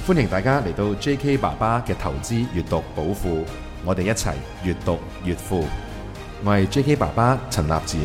歡迎大家嚟到 J.K. 爸爸嘅投資閱讀寶庫，我哋一齊閱讀越富。我係 J.K. 爸爸陳立展。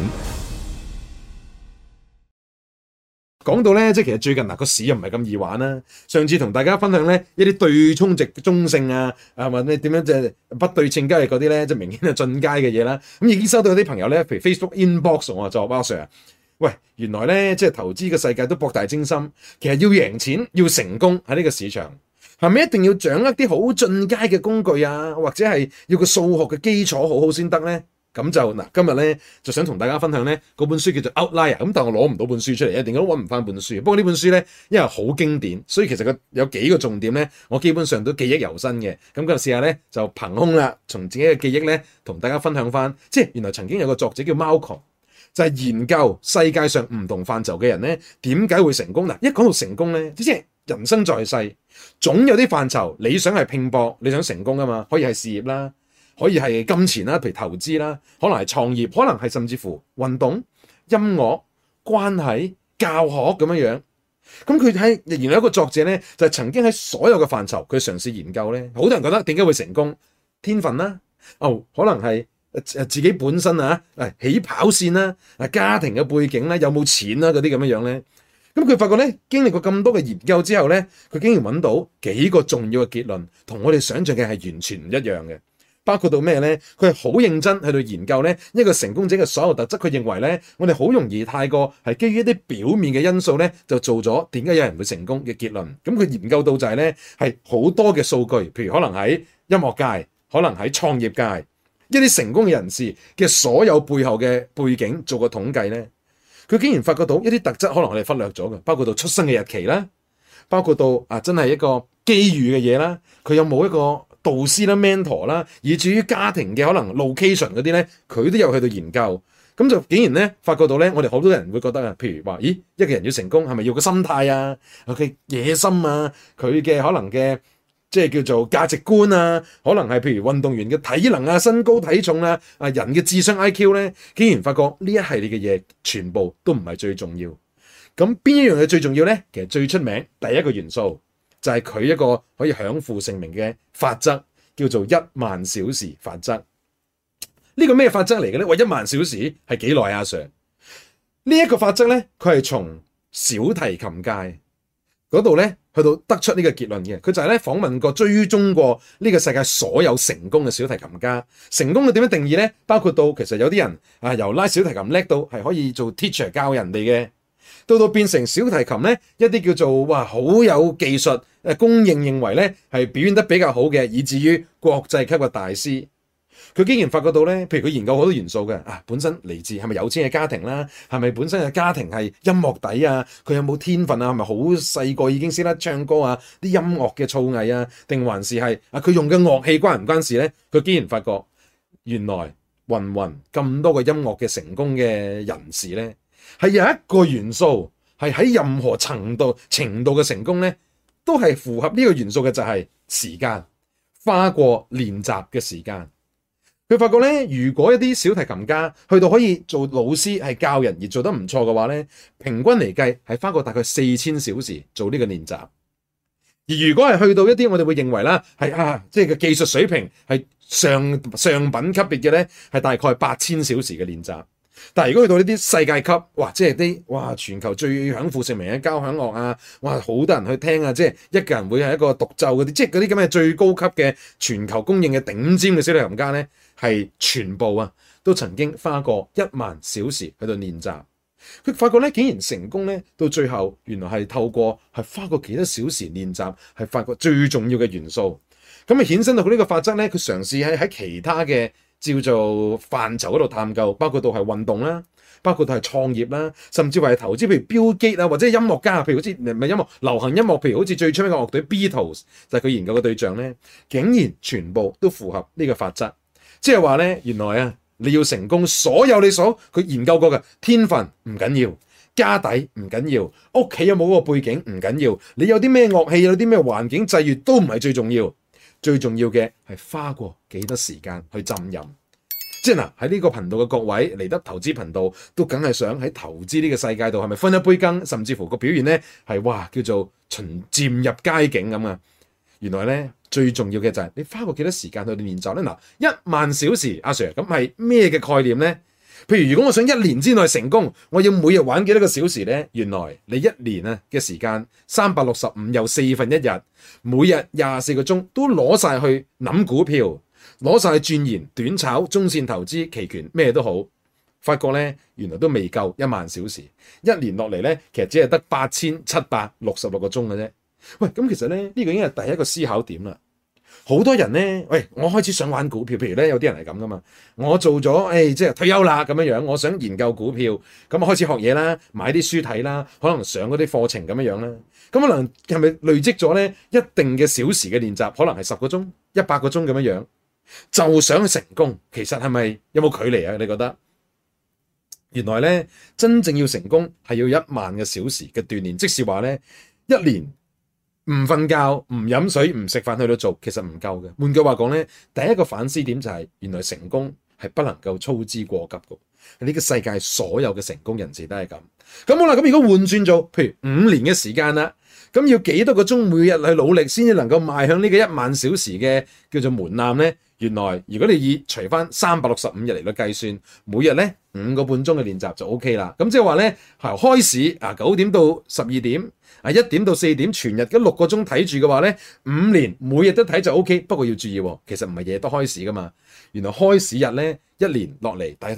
講到咧，即係其實最近個市又唔係咁易玩啦。上次同大家分享咧一啲對沖值中性啊，或者點樣即係不對稱交易嗰啲咧，即係明顯係進階嘅嘢啦。咁已經收到有啲朋友咧，譬如 Facebook inbox 我就話Sir，喂，原來咧即係投資嘅世界都博大精深，其實要贏錢要成功喺呢個市場，係咪一定要掌握啲好進階嘅工具啊，或者係要個數學嘅基礎好好先得咧？咁就嗱，今日咧就想同大家分享咧嗰本書叫做 Outlier， 咁但係我攞唔到本書出嚟，一定都揾唔翻本書。不過呢本書咧，因為好經典，所以其實佢有幾個重點咧，我基本上都記憶猶新嘅。咁今日試下咧就憑空啦，從自己嘅記憶咧同大家分享翻，即係原來曾經有個作者叫 Malcolm， 就係研究世界上唔同範疇嘅人咧點解會成功。嗱，一講到成功咧，即係人生在世，總有啲範疇你想係拼搏，你想成功啊嘛，可以係事業啦。可以係金錢啦，譬如投資啦，可能係創業，可能係甚至乎運動、音樂、關係、教學咁樣樣。咁佢喺原來有一個作者咧，就係曾經喺所有嘅範疇，佢嘗試研究咧。好多人覺得點解會成功？天分啦，可能係自己本身啊，起跑線啦，家庭嘅背景啦，有冇錢啦嗰啲咁樣樣咧。咁佢發覺咧，經歷過咁多嘅研究之後咧，佢竟然揾到幾個重要嘅結論，同我哋想象嘅係完全唔一樣嘅。包括到咩咧？佢係好認真去到研究咧一個成功者嘅所有特質。佢認為咧，我哋好容易太過係基於一啲表面嘅因素咧，就做咗點解有人會成功嘅結論。咁佢研究到就係咧，係好多嘅數據，譬如可能喺音樂界，可能喺創業界，一啲成功嘅人士嘅所有背後嘅背景做個統計咧，佢竟然發覺到一啲特質可能我哋忽略咗嘅，包括到出生嘅日期啦，包括到真係一個機遇嘅嘢啦，佢有冇一個導師啦、mentor 啦，以至於家庭嘅可能 location 嗰啲咧，佢都有去到研究。咁就竟然咧發覺到咧，我哋好多人會覺得啊，譬如話，咦，一個人要成功係咪要個心態啊？佢野心啊，佢嘅可能嘅即係叫做價值觀啊，可能係譬如運動員嘅體能啊、身高體重啊、人嘅智商 IQ 咧，竟然發覺呢一系列嘅嘢全部都唔係最重要。咁邊一樣嘢最重要咧？其實最出名第一個元素，就係佢一個可以享負盛名嘅法則，叫做10000小時法則。呢個咩法則嚟嘅咧？喂，10000小時係幾耐啊，Sir？呢一個法則咧，佢係從小提琴界嗰度咧去到得出呢個結論嘅。佢就係咧訪問過、追蹤過呢個世界所有成功嘅小提琴家。成功嘅點樣定義咧？包括到其實有啲人由拉小提琴叻到係可以做 teacher 教人哋嘅。到變成小提琴咧，一啲叫做好有技術，公認為咧係表現得比較好嘅，以至於國際級嘅大師。佢竟然發覺到咧，譬如佢研究好多元素嘅本身嚟自係咪有錢嘅家庭啦，係咪本身嘅家庭係音樂底啊，佢有冇天分啊，係咪好細個已經識得唱歌啊，啲音樂嘅造詣啊，定還是係佢用嘅樂器關唔關事咧？佢竟然發覺原來芸咁多個音樂嘅成功嘅人士咧，係有一個元素係喺任何程度嘅成功咧，都係符合呢個元素嘅，就係時間，花過練習嘅時間。佢發覺咧，如果一啲小提琴家去到可以做老師係教人而做得唔錯嘅話咧，平均嚟計係花過大概4000小時做呢個練習。而如果係去到一啲我哋會認為啦係即係個技術水平係上品級別嘅咧，係大概8000小時嘅練習。但係如果去到呢啲世界級，即係啲全球最享負盛名嘅交響樂啊，好多人去聽啊，即係一個人會係一個獨奏嗰啲，即係嗰啲咁嘅最高級嘅全球公認嘅頂尖嘅小提琴家咧，係全部都曾經花過10000小時喺度練習。佢發覺咧，竟然成功咧，到最後原來係透過係花過幾多小時練習，係發覺最重要嘅元素。咁衍生到佢呢個法則咧，佢嘗試喺其他嘅叫做範疇嗰度探究，包括到係運動啦，包括到係創業啦，甚至係投資，譬如 Bill Gates或者音樂家，譬如好似唔係音樂流行音樂，譬如好似最出名嘅樂隊 Beatles，就係佢研究嘅對象咧，竟然全部都符合呢個法則。即係話咧，原來你要成功，所有佢研究過嘅天分唔緊要，家底唔緊要，屋企有冇嗰個背景唔緊要，你有啲咩樂器，有啲咩環境際遇都唔係最重要。最重要嘅係花過幾多時間去浸淫。 即係嗱，喺呢個頻道嘅各位嚟得投資頻道，都梗係想喺投資呢個世界度係咪分一杯羹，甚至乎個表現咧係哇叫做漸入佳境咁啊！原來咧最重要嘅就係你花過幾多時間去練習咧？嗱，10000小時，阿 Sir 咁係咩嘅概念咧？譬如如果我想1年之內成功，我要每日玩幾多個小時咧？原來你1年啊嘅時間365又1/4，每日24個鐘都攞晒去諗股票，攞晒去鑽研短炒、中線投資、期權咩都好，發覺咧原來都未夠10000小時，一年落嚟咧其實只係得8766個鐘嘅啫。喂，咁其實咧呢個已經係第一個思考點啦。好多人咧，喂，我開始想玩股票，譬如咧有啲人係咁噶嘛，我做咗即係退休啦咁樣樣，我想研究股票，咁啊開始學嘢啦，買啲書睇啦，可能上嗰啲課程咁樣樣啦，咁可能係咪累積咗咧一定嘅小時嘅練習，可能係10個鐘、100個鐘咁樣樣，就想去成功，其實係咪有冇距離啊？你覺得？原來咧真正要成功係要10000個小時嘅鍛鍊，即是話咧一年。唔瞓覺、唔飲水、唔食飯去到做，其實唔夠嘅。換句話講咧，第一個反思點就係原來成功係不能夠操之過急嘅。呢個世界所有嘅成功人士都係咁。咁好啦，咁如果換轉做，譬如5年嘅時間啦，咁要幾多個鐘每日去努力先至能夠邁向呢個10000小時嘅叫做門檻咧？原來如果你以除翻365日嚟到計算，每日咧5個半鐘嘅練習就 OK 啦。咁即係話咧，開市9點到12點1點到4點，全日嘅6個鐘睇住嘅話咧，5年每日都睇就 OK。不過要注意，其實唔係日日都開市噶嘛。原來開市日咧一年落嚟大概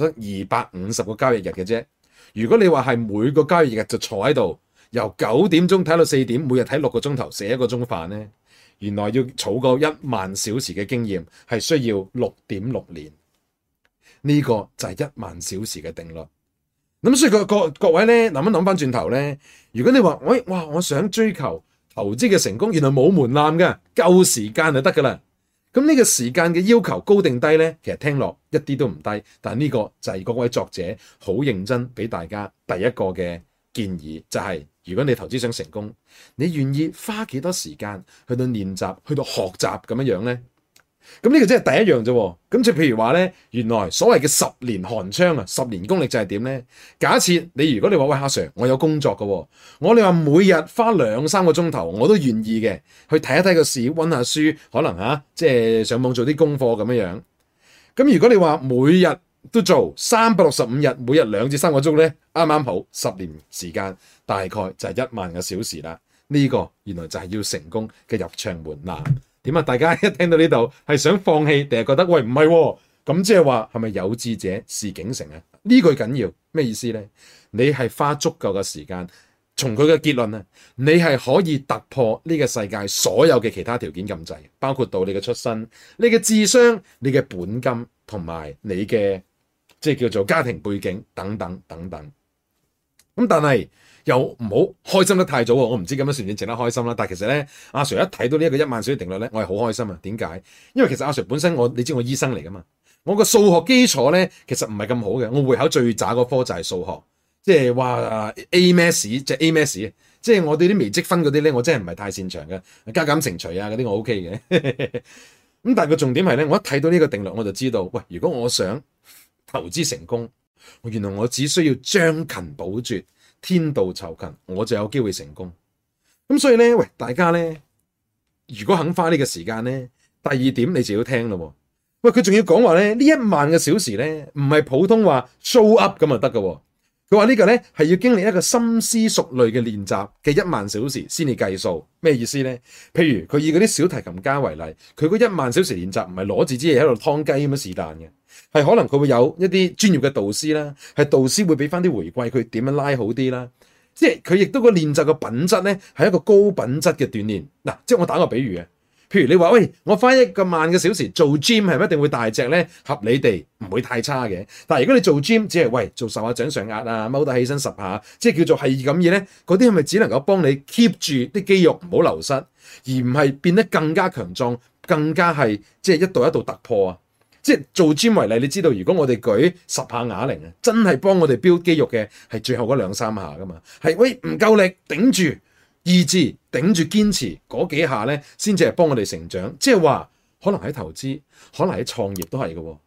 250個交易日嘅啫。如果你話係每個交易日就坐喺度，由9點鐘睇到4點，每日睇6個鐘頭，食1個鐘飯咧。原來要儲夠10000小時嘅經驗係需要6.6年，呢個就係10000小時嘅定律。咁所以各位咧諗一諗翻轉頭咧，如果你話我想追求投資嘅成功，原來冇門檻嘅，夠時間就得噶啦。咁呢個時間嘅要求高定低咧，其實聽落一啲都唔低。但係呢個就係嗰位作者好認真俾大家第一個嘅建議，就係如果你投資想成功，你願意花幾多時間去到練習、去到學習咁樣樣呢？咁呢個真係第一樣啫。咁就譬如話呢，原來所謂嘅10年寒窗啊，10年功力就係點呢？假設如果你話喂，阿 Sir， 我有工作嘅，我哋話每日花2-3個鐘頭，我都願意嘅，去睇一睇個市，溫下書，可能即係上網做啲功課咁樣樣。咁如果你話每日都做365日，每日2至3個鐘咧，啱啱好10年時間，大概就係10000個小時啦。呢個原來就係要成功嘅入場門檻。點啊？大家一聽到呢度係想放棄，定係覺得喂唔係喎？咁即係話係咪有志者事竟成啊？呢句緊要咩意思咧？你係花足夠嘅時間，從佢嘅結論啊，你係可以突破呢個世界所有嘅其他條件禁制，包括到你嘅出身、你嘅智商、你嘅本金同埋你嘅即係叫做家庭背景等等等等。咁但係又唔好開心得太早喎，我唔知咁樣算唔算值得開心啦。但係其實咧，阿 Sir 一睇到呢一個10000小時定律咧，我係好開心啊。點解？因為其實阿 Sir 本身你知我醫生嚟噶嘛，我個數學基礎咧其實唔係咁好嘅，我會考最渣嗰科就係數學，即係話 A Maths 即係 A Maths，即係我對啲微積分嗰啲咧，我真係唔係太擅長嘅，加減乘除啊嗰啲我 OK 嘅。咁但係個重點係咧，我一睇到呢個定律我就知道，喂，如果我想投資成功，原來我只需要將勤補拙，天道酬勤，我就有機會成功。咁所以咧，喂，大家咧，如果肯花呢個時間咧，第二點你就要聽咯。喂，佢仲要講話咧，呢10000個小時咧，唔係普通話 show up 咁就得㗎。佢話呢個咧係要經歷一個深思熟慮嘅練習嘅10000小時先至計數。咩意思咧？譬如佢以嗰啲小提琴家為例，佢嗰10000小時練習唔係攞住支嘢喺度劏雞咁樣是但嘅。係可能佢會有一啲專業嘅導師啦，係導師會俾翻啲回饋佢點樣拉好啲啦。即係佢亦都個練習嘅品質咧係一個高品質嘅鍛鍊。嗱，即係我打個比喻啊，譬如你話喂，我花10000個小時做 gym 係咪一定會大隻咧？合理地唔會太差嘅。但係如果你做 gym 只係喂做10下掌上壓啊，踎得起身10下，即係叫做係咁嘢咧，嗰啲係咪只能夠幫你 keep 住啲肌肉唔好流失，而唔係變得更加強壯，更加係即係一度一度突破啊？即係做 gym 為例，你知道如果我哋舉10下啞鈴啊，真係幫我哋 build 肌肉嘅係最後嗰2-3下噶嘛，係喂唔夠力頂住意志頂住堅持嗰幾下咧，先至係幫我哋成長。即係話可能喺投資，可能喺創業都係嘅。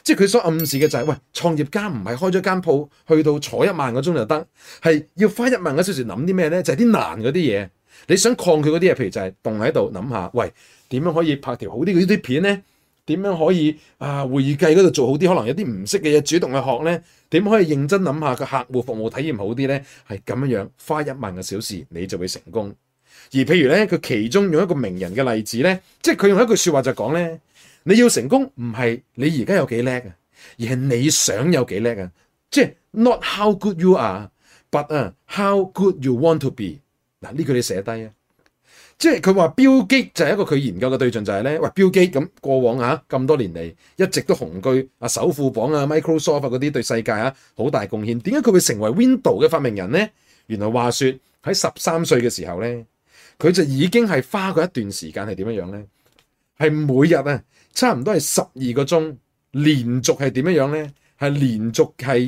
即係佢所暗示嘅就係，喂，創業家唔係開咗間鋪去到坐1萬個鐘就得，係要花1萬個小時諗啲咩咧？就係啲難嗰啲嘢。你想抗拒嗰啲嘢，譬如就係凍喺度諗下，喂，點樣可以拍條好啲嘅啲片咧？點樣可以會計嗰度做好啲？可能有啲唔識嘅嘢主動去學咧？點可以認真諗下個客戶服務體驗好啲咧？係咁樣花1萬個小時你就會成功。而譬如咧，佢其中用一個名人嘅例子咧，即係佢用一句説話就講咧，你要成功唔係你而家有幾叻啊，而係你想有幾叻啊。即係 not how good you are，but how good you want to be。嗱，呢句你寫低啊。即係佢話標基就係一個佢研究嘅對象，就係咧，喂，標基咁過往咁多年嚟一直都雄居首富榜Microsoft 嗰啲對世界好大貢獻。點解佢會成為 Windows 嘅發明人咧？原來話說喺13歲嘅時候咧，佢就已經係花過一段時間係點樣咧？係每日差唔多係12個鐘，連續係點樣咧？係連續係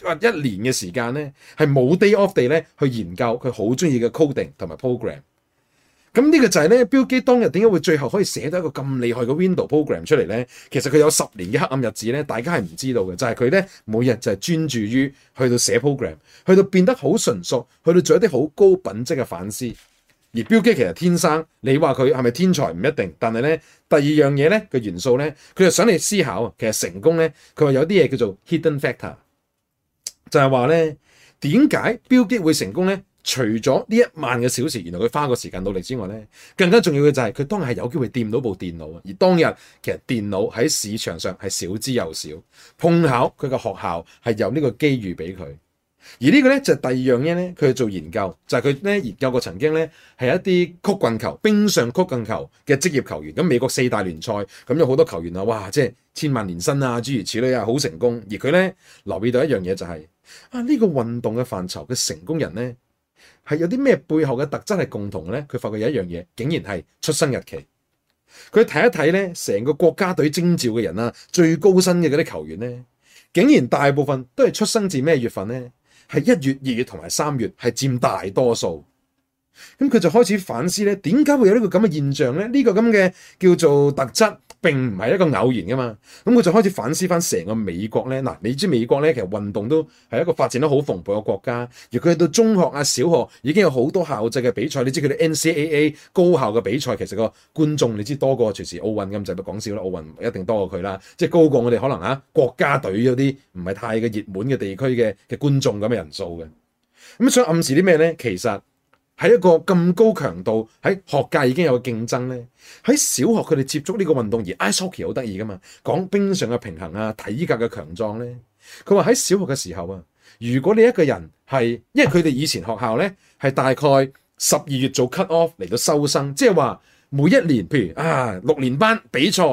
1年嘅時間咧，係冇 day off 地咧去研究佢好中意嘅 coding 同埋 program。咁呢個就係咧，Bill Gates當日點解會最後可以寫到一個咁厲害嘅 Windows program 出嚟咧？其實佢有10年嘅黑暗日子咧，大家係唔知道嘅，就係佢咧每日就係專注於去到寫 program， 去到變得好純熟，去到做一啲好高品質嘅反思。而 Bill Gates 其實天生，你話佢係咪天才唔一定，但係咧第二樣嘢咧嘅元素咧，佢就想你思考，其實成功咧，佢話有啲嘢叫做 hidden factor， 就係話咧點解 Bill Gates 會成功咧？除咗呢1萬個小時，原來佢花個時間努力之外咧，更加重要嘅就係佢當日係有機會掂到部電腦啊！而當日其實電腦喺市場上係少之又少，碰巧佢個學校係有呢個機遇俾佢。而呢個咧就係第二樣嘢咧，佢去做研究，就係佢咧研究過曾經咧係一啲曲棍球、冰上曲棍球嘅職業球員。咁美國4大聯賽咁有好多球員啊，哇！即係千萬年薪諸如此類好成功。而佢咧留意到一樣嘢就係呢個運動嘅範疇嘅成功人咧，係有啲咩背後嘅特質係共同嘅咧？佢發覺有一樣嘢，竟然係出生日期。佢睇一睇咧，成個國家隊徵召嘅人最高薪嘅嗰啲球員咧，竟然大部分都係出生自咩月份咧？係1月、2月同埋3月係佔大多數。咁佢就開始反思咧，點解會有呢個咁嘅現象咧？呢個咁嘅叫做特質並唔係一個偶然噶嘛。咁佢就開始反思翻成個美國咧。嗱，你知美國咧其實運動都係一個發展得好蓬勃嘅國家。而佢去到中學小學已經有好多校際嘅比賽。你知佢哋 NCAA 高校嘅比賽，其實個觀眾你知多過隨時奧運咁，就唔講笑啦。奧運一定多過佢啦，即係高過我哋可能國家隊嗰啲唔係太嘅熱門嘅地區嘅觀眾咁嘅人數嘅。咁想暗示啲咩咧？其實喺一個咁高強度喺學界已經有競爭咧，喺小學佢哋接觸呢個運動，而 ice hockey 好得意噶嘛，講冰上嘅平衡體格嘅強壯咧。佢話喺小學嘅時候如果你一個人係，因為佢哋以前學校咧係大概12月做 cut off 嚟到收生，即係話每一年譬如6年班比賽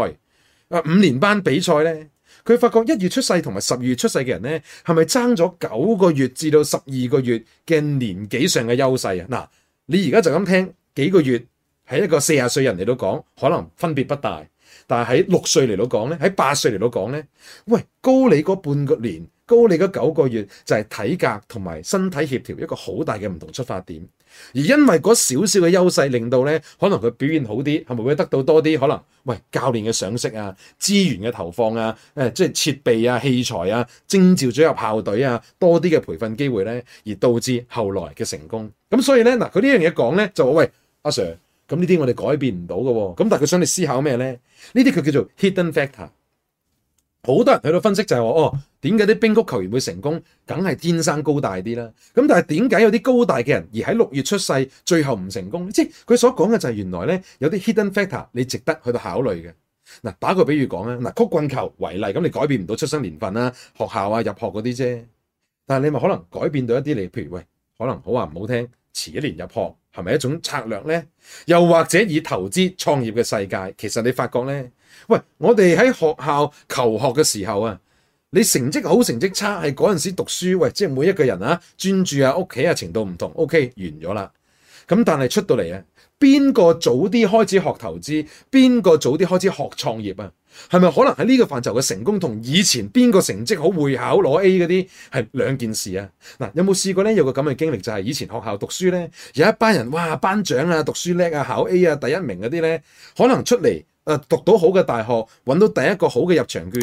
5年班比賽咧，佢發覺1月出世同埋12月出世嘅人咧，係咪爭咗9個月至到12個月嘅年紀上嘅優勢啊？嗱，你而家就咁聽幾個月，喺一個40歲人嚟到講，可能分別不大。但係喺6歲嚟到講咧，喺8歲嚟到講咧，喂，高你嗰半個年，高你嗰9個月，就係體格同埋身體協調一個好大嘅唔同出發點。而因為嗰少少嘅優勢，令到咧可能佢表現好啲，係咪會得到多啲？可能喂教練嘅賞識資源嘅投放即係設備器材徵召咗入校隊多啲嘅培訓機會咧，而導致後來嘅成功。咁所以咧嗱，佢呢樣嘢講咧就話喂阿 Sir，咁呢啲我哋改變唔到嘅喎。咁但係佢想你思考咩咧？呢啲佢叫做 hidden factor。好多人喺度分析就係話點解啲冰曲球員會成功？梗係天生高大啲啦。咁但係點解有啲高大嘅人而喺6月出世，最後唔成功？即係佢所講嘅就係原來咧有啲 hidden factor 你值得去到考慮嘅。嗱，打個比喻講曲棍球為例，咁你改變唔到出生年份學校入學嗰啲啫。但係你咪可能改變到一啲你，譬如喂，可能好話唔好聽，遲1年入學係咪一種策略咧？又或者以投資創業嘅世界，其實你發覺咧，喂，我哋喺學校求學嘅時候你成績好成績差係嗰陣時讀書，喂，即係每一個人專注屋企程度唔同 ，OK 完咗啦。咁但係出到嚟邊個早啲開始學投資，邊個早啲開始學創業係咪可能喺呢個範疇嘅成功同以前邊個成績好會考攞 A 嗰啲係兩件事嗱，有冇試過咧？有個咁嘅經歷就係以前學校讀書咧，有一班人哇班長讀書叻考 A 第一名嗰啲咧，可能出嚟讀到好嘅大學，揾到第一個好嘅入場券。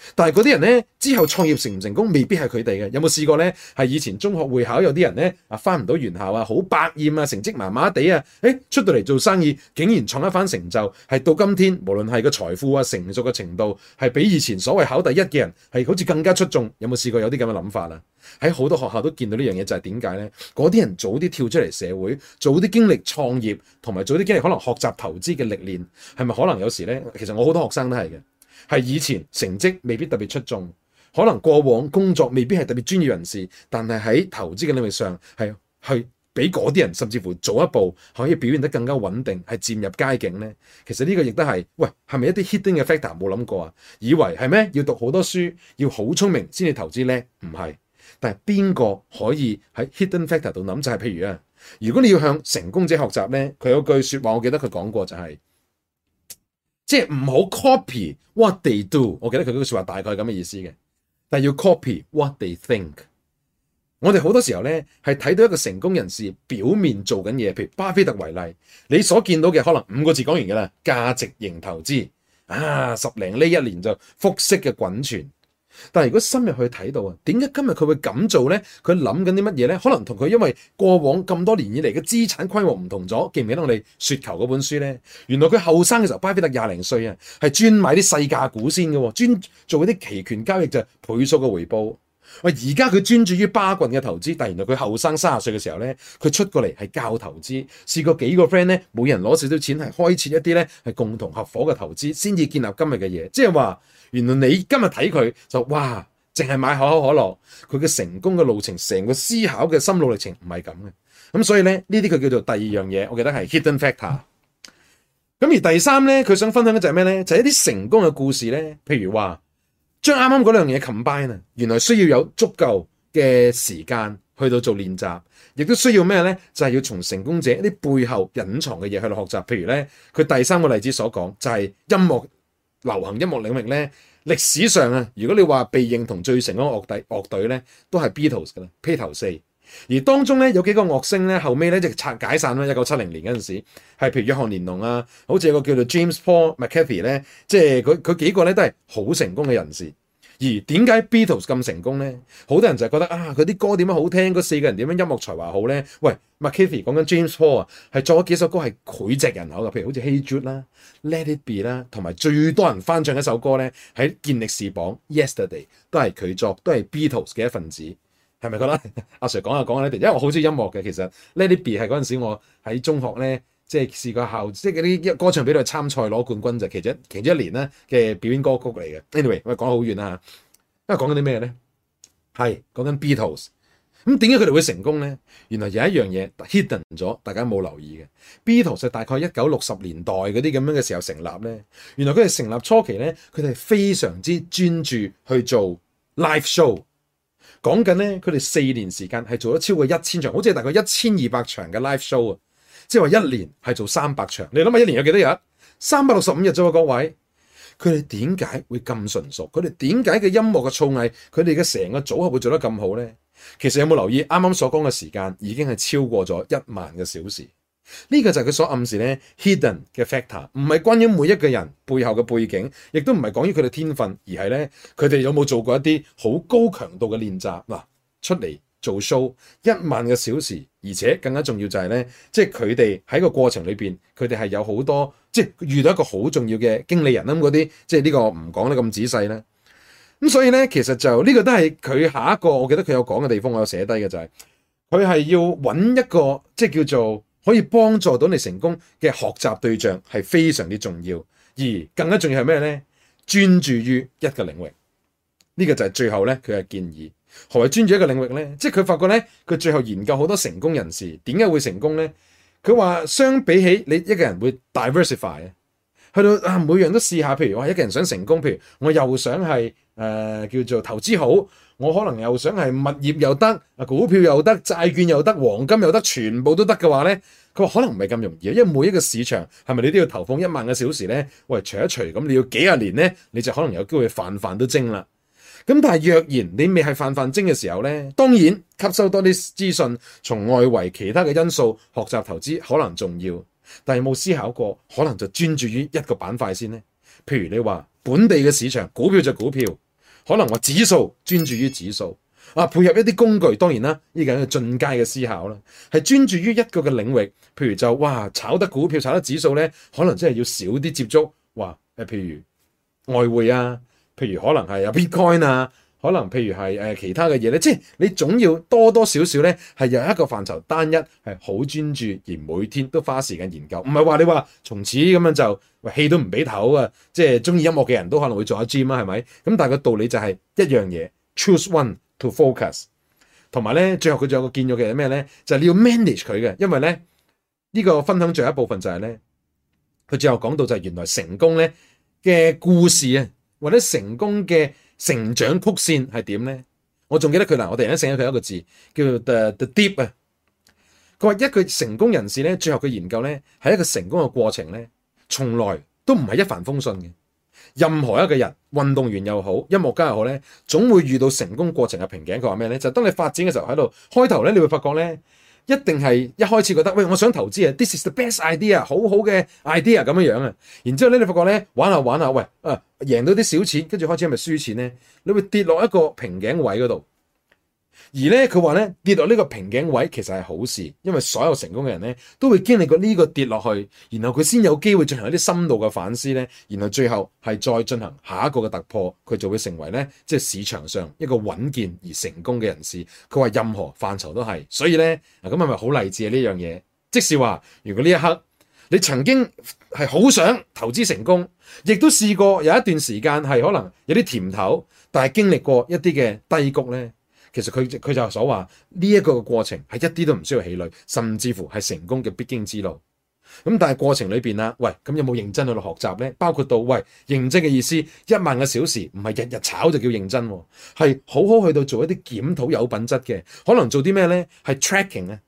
但係嗰啲人咧之後創業成唔成功，未必係佢哋嘅。有冇試過咧？係以前中學會考有啲人咧返唔到原校啊，好百厭啊，成績麻麻地啊，出到嚟做生意，竟然創一番成就，係到今天無論係個財富啊、成熟嘅程度，係比以前所謂考第一嘅人係好似更加出眾。有冇試過有啲咁嘅諗法啊？喺好多學校都見到呢樣嘢，就係點解咧？嗰啲人早啲跳出嚟社會，早啲經歷創業，同埋早啲經歷可能學習投資嘅歷練，係咪可能有時咧？其實我好多學生都係嘅。係以前成績未必特別出眾，可能過往工作未必係特別專業人士，但係喺投資嘅領域上係去比嗰啲人甚至乎早一步可以表現得更加穩定，係漸入佳境呢。其實呢個亦都係，喂，係咪一啲 hidden 嘅 factor 冇諗過啊？以為係咩？要讀好多書，要好聰明先至投資叻？唔係。但係邊個可以喺 hidden factor 度諗？就係譬如啊，如果你要向成功者學習呢，佢有句説話，我記得佢講過就係。即係唔好 copy what they do， 我記得佢嗰句説話大概係咁嘅意思嘅，但係要 copy what they think。我哋好多時候咧係睇到一個成功人士表面做緊嘢，譬如巴菲特為例，你所見到嘅可能5個字講完嘅啦，價值型投資啊，10零呢1年就複息嘅滾存。但係如果深入去睇到啊，點解今日佢會咁做咧？佢諗緊啲乜嘢咧？可能同佢因為過往咁多年以嚟嘅資產規模唔同咗。記唔記得我哋雪球嗰本書咧？原來佢後生嘅時候，巴菲特20零歲啊，係專買啲細價股先嘅，專做嗰啲期權交易就倍數嘅回報。喂，而家佢專注於巴郡嘅投資，但係原來佢後生30歲嘅時候咧，佢出過嚟係教投資，試過幾個 friend 咧，每人攞少少錢係開設一啲咧係共同合夥嘅投資，先至建立今日嘅嘢。即係話，原來你今日睇佢就哇，淨係買可口可樂，佢嘅成功嘅路程，成個思考嘅心路歷程唔係咁嘅。咁所以咧，呢啲佢叫做第二樣嘢，我記得係 hidden factor。咁而第三咧，佢想分享嘅就係咩咧？就係一啲成功嘅故事咧，譬如話。將啱啱嗰兩樣嘢 combine 啊，原來需要有足夠嘅時間去到做練習，亦都需要咩咧？就係要從成功者一啲背後隱藏嘅嘢去到學習。譬如咧，佢第三個例子所講就係音樂流行音樂領域咧，歷史上啊，如果你話被認同最成功樂隊咧，都係 Beatles 噶啦，披頭四。而當中咧有幾個樂星咧，後尾咧就解散啦。1970年嗰陣時，係譬如約翰連儂啊，好似有個叫做 James Paul McCartney 咧，即係佢幾個咧都係好成功嘅人士。而點解 Beatles 咁成功咧？好多人就係覺得啊，佢啲歌點樣好聽，嗰4個人點樣音樂才華好咧？喂 McCartney 講緊 James Paul 啊，係作咗幾首歌係膾炙人口嘅，譬如好似 Hey Jude 啦、Let It Be 啦，同埋最多人翻唱一首歌咧，喺健力士榜 Yesterday 都係佢作，都係 Beatles 嘅一份子。係咪覺得阿 Sir 講下呢啲？因為我好中意音樂嘅，其實 Let It Be 係嗰陣時我喺中學咧，即係試過即係嗰啲歌唱比賽參賽攞冠軍就其中一年咧嘅表演歌曲嚟嘅。Anyway， 我講得好遠啦嚇，因為講緊啲咩咧？係講緊 Beatles。咁點解佢哋會成功咧？原來有一樣嘢 hidden 咗，大家冇留意嘅。Beatles 係大概1960年代嗰啲咁樣嘅時候成立咧。原來佢哋成立初期咧，佢哋係非常之專注去做 live show。講緊咧，佢哋4年時間係做咗超過1000場，好似係大概1200場嘅 live show 啊！即係話1年係做300場。你諗下，1年有幾多日？365日啫喎，各位。佢哋點解會咁純熟？佢哋點解嘅音樂嘅造詣，佢哋嘅成個組合會做得咁好咧？其實有冇留意啱啱所講嘅時間已經係超過咗1萬個小時？呢個就係佢所暗示咧 hidden 嘅 factor， 唔係關於每一個人背後嘅背景，亦都唔係講於佢哋天分，而係咧佢哋有冇做過一啲好高強度嘅練習嗱，出嚟做 show 1萬個小時，而且更加重要就係咧，即係佢哋喺個過程裏邊，佢哋係有好多即係遇到一個好重要嘅經理人啦，嗰啲即係呢個唔講得咁仔細啦。咁所以咧，其實就呢個都係佢下一個，我記得佢有講嘅地方，我有寫低嘅就係佢係要揾一個即係叫做可以幫助到你成功嘅學習對象係非常之重要，而更加重要係咩咧？專注於一個領域，呢個就係最後咧佢嘅建議。何謂專注一個領域咧？即係佢發覺咧，佢最後研究好多成功人士點解會成功咧？佢話相比起你一個人會 diversify 去到每樣都試下，譬如話一個人想成功，譬如我又想係叫做投資好，我可能又想係物業又得，股票又得，債券又得，黃金又得，全部都得嘅話咧，佢話可能唔係咁容易，因為每一個市場係咪你都要投放1萬個小時咧？喂，除一除咁，你要幾廿年咧，你就可能有機會飯飯都精啦。咁但係若然你未係飯飯精嘅時候咧，當然吸收多啲資訊，從外圍其他嘅因素學習投資可能重要。但係冇思考過，可能就專注於一個板塊先咧。譬如你話本地嘅市場，股票就股票， 可能話指數專注於指數啊，配合一啲工具，當然啦，呢個係進階嘅思考啦，係專注於一個嘅領域。譬如就炒得股票、炒得指數咧，可能真係要少啲接觸。譬如外匯啊，譬如可能係Bitcoin 啊。可能譬如係其他嘅嘢咧，即係你總要多多少少咧係有一個範疇單一係好專注，而每天都花時間研究，唔係話你話從此咁樣就氣都唔俾唞啊！即係中意音樂嘅人都可能會做下 gym 啊，係咪？咁但係個道理就係一樣嘢 ，choose one to focus。同埋咧，最後佢仲有個建議嘅係咩咧？就係你要 manage 佢嘅，因為咧呢個分享最後一部分就係咧，佢最後講到就係原來成功咧嘅故事啊，或者成功嘅成長曲線係點咧？我仲記得佢我突然間醒起佢一個字叫做 the deep 啊。佢話一個成功人士咧，最後佢研究咧係一個成功嘅過程咧，從來都唔係一帆風順嘅。任何一個人，運動員又好，音樂家又好咧，總會遇到成功過程嘅瓶頸。佢話咩咧？就當你發展嘅時候喺度開頭咧，你會發覺咧，一定係一開始覺得喂，我想投資啊 ，this is the best idea， 好好嘅 idea 咁樣啊。然之後咧，你發覺咧玩下玩下，喂贏到啲小錢，跟住開始係咪輸錢咧？你會跌落一個瓶頸位嗰度。而咧佢話咧跌落呢個瓶頸位其實係好事，因為所有成功嘅人咧都會經歷過呢個跌落去，然後佢先有機會進行一啲深度嘅反思咧，然後最後係再進行下一個嘅突破，佢就會成為咧即係市場上一個穩健而成功嘅人士。佢話任何範疇都係，所以咧咁係咪好勵志啊呢樣嘢？即使話如果呢一刻你曾經係好想投資成功，亦都試過有一段時間係可能有啲甜頭，但係經歷過一啲嘅低谷咧。其實佢就所話呢一個過程係一啲都唔需要氣餒，甚至乎係成功嘅必經之路。咁但係過程裏邊啦，喂，咁有冇認真去到學習咧？包括到喂認真嘅意思，1萬個小時唔係日日炒就叫認真，係好好去到做一啲檢討有品質嘅，可能做啲咩咧？係 tracking 啊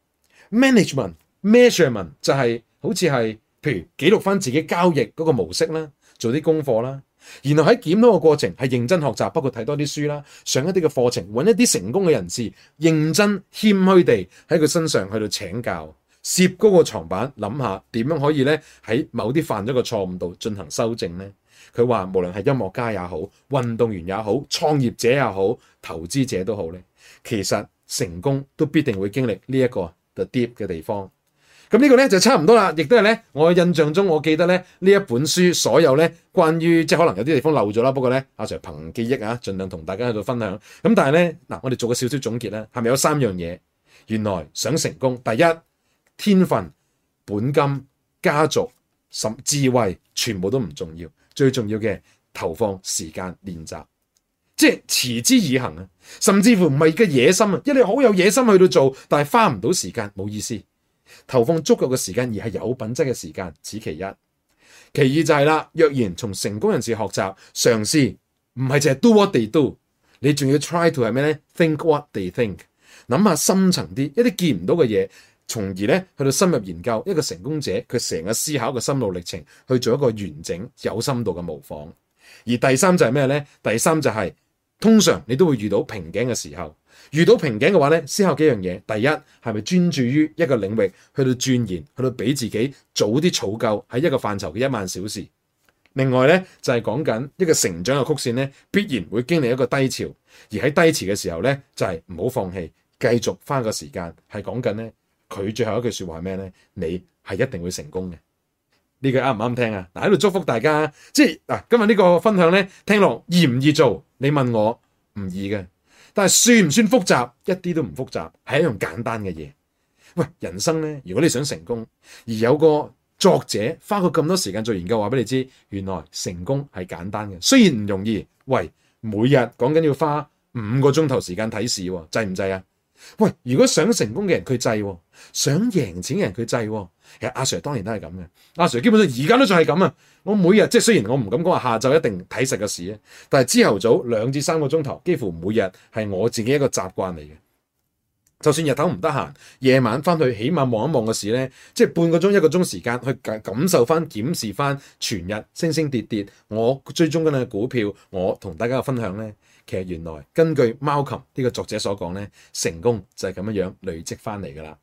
，management、measurement 就係好似係譬如記錄翻自己交易嗰個模式啦，做啲功課啦。然後喺檢討嘅過程係認真學習，包括睇多啲書啦，上一啲嘅課程，揾一啲成功嘅人士，認真謙虛地喺佢身上去到請教，攝高個床板，諗下點樣可以咧喺某啲犯咗個錯誤度進行修正咧。佢話無論係音樂家也好，運動員也好，創業者也好，投資者都好咧，其實成功都必定會經歷呢一個 the deep 嘅地方。咁呢個咧就差唔多啦，亦都係咧我印象中，我記得咧呢一本書所有咧關於即係可能有啲地方漏咗啦，不過咧阿 Sir 憑記憶啊，盡量同大家喺度分享。咁但係咧我哋做個少少總結咧，係咪有3樣嘢？原來想成功，第一天分、本金、家族、智慧，全部都唔重要，最重要嘅投放時間練習，即係持之以恆啊！甚至乎唔係嘅野心啊，因為你好有野心去到做，但係花唔到時間，冇意思。投放足夠嘅時間，而係有品質嘅時間，此其一。其二就係啦，若然從成功人士學習，嘗試唔係淨係 do what they do， 你仲要 try to 係咩咧 ？think what they think， 諗下深層啲，一啲見唔到嘅嘢，從而咧去到深入研究一個成功者佢成個思考嘅心路歷程，去做一個完整有深度嘅模仿。而第三就係咩咧？第三就係通常你都會遇到瓶頸嘅時候。遇到瓶頸嘅話咧，思考幾樣嘢。第一，係咪專注於一個領域去到鑽研，去到俾自己早啲儲夠喺一個範疇嘅1萬小時。另外咧就係講緊一個成長嘅曲線咧，必然會經歷一個低潮，而喺低潮嘅時候咧就係唔好放棄，繼續花個時間。係講緊咧佢最後一句說話係咩咧？你係一定會成功嘅。呢句啱唔啱聽啊？嗱，喺度祝福大家。即係嗱，今日呢個分享咧聽落易唔易做？你問我唔易嘅。但係算唔算複雜？一啲都唔複雜，係一樣簡單嘅嘢。喂，人生咧，如果你想成功，而有個作者花過咁多時間做研究，話俾你知，原來成功係簡單嘅。雖然唔容易，喂，每日講緊要花5個鐘頭時間睇市，制唔制啊？喂，如果想成功嘅人佢制，想贏錢嘅人佢制。其實阿 Sir 當然都係咁嘅，阿 Sir 基本上而家都仲係咁啊！我每日即係雖然我唔敢講話下晝一定睇實個市啊，但係朝頭早2至3個鐘頭，幾乎每日係我自己一個習慣嚟嘅。就算日頭唔得閒，夜晚翻去起碼望一望個市咧，即係半個鐘1個鐘時間去感受翻、檢視翻全日升升跌跌，我追蹤緊嘅股票，我同大家嘅分享咧，其實原來根據 Malcolm 呢個作者所講咧，成功就係咁樣累積翻嚟噶啦。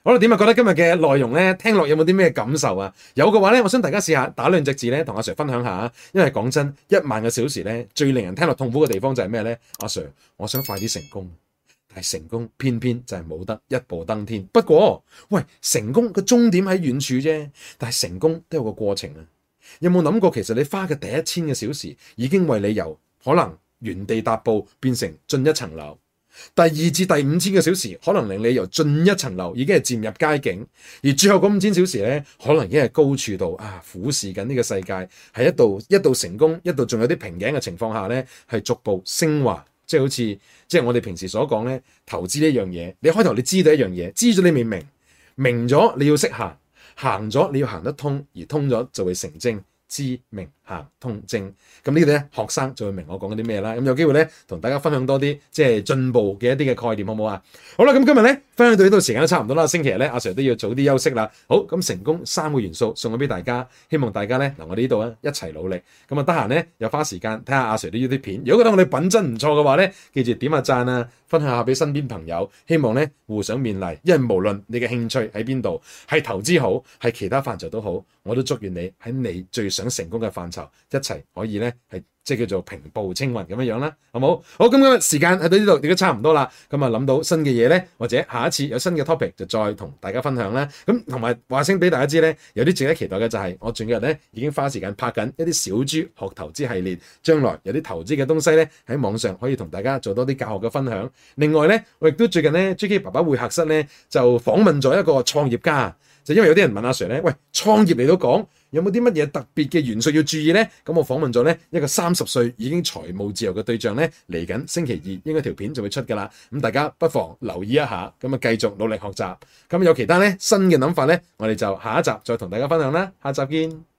好啦，點啊？覺得今日嘅內容咧，聽落有冇啲咩感受啊？有嘅話咧，我想大家試下打兩隻字咧，同阿 Sir 分享下。因為講真，1萬個小時咧，最令人聽落痛苦嘅地方就係咩咧？阿 Sir，我想快啲成功，但係成功偏偏就係冇得一步登天。不過，喂，成功個終點喺遠處啫，但係成功都有個過程啊。有冇諗過，其實你花嘅第1000個小時，已經為你由可能原地踏步變成進一層樓？第2至第5000個小時，可能令你由進一層樓已經係漸入佳境，而最後嗰5000小時咧，可能已經係高處度俯視緊呢個世界，係一度成功，一度仲有啲瓶頸嘅情況下咧，係逐步升華，即係好似即係我哋平時所講咧，投資呢樣嘢，你開頭你知道一樣嘢，知咗你未明，明咗你要識行，行咗你要行得通，而通咗就會成精。知明行通精，咁呢度咧學生就會明我講緊啲咩啦。咁有機會咧同大家分享多啲即係進步嘅一啲嘅概念，好唔好啊？好啦，咁今日咧分享到呢度時間都差唔多啦。星期日咧阿 Sir 都要早啲休息啦。好，咁成功3個元素送咗俾大家，希望大家咧嗱我哋呢度啊一齊努力。咁啊得閒咧又花時間睇下阿 Sir 啲 YouTube 片。如果覺得我哋品質唔錯嘅話咧，記住點下讚啊，分享下俾身邊朋友。希望咧互相勉勵，因為無論你嘅興趣喺邊度，係投資好，係其他範疇都好，我都祝願你喺你最想成功嘅範疇一齊可以咧係即係叫做平步青雲咁樣啦，好冇？好，咁今日時間喺到呢度亦都差唔多啦。咁啊諗到新嘅嘢咧，或者下一次有新嘅 topic 就再同大家分享啦。咁同埋話聲俾大家知咧，有啲值得期待嘅就係我近日咧已經花時間拍緊一啲小豬學投資系列，將來有啲投資嘅東西咧喺網上可以同大家做多啲教學嘅分享。另外咧，我亦都最近咧 JK 爸爸會客室咧就訪問咗一個創業家，就因為有啲人問阿 Sir 咧，喂，創業嚟到講，有冇啲乜嘢特別嘅元素要注意呢？咁我訪問咗呢一個30歲已經財務自由嘅對象呢，嚟緊星期2應該條片就會出㗎啦。咁大家不妨留意一下，咁啊繼續努力學習。咁有其他呢新嘅諗法呢，我哋就下一集再同大家分享啦。下集見。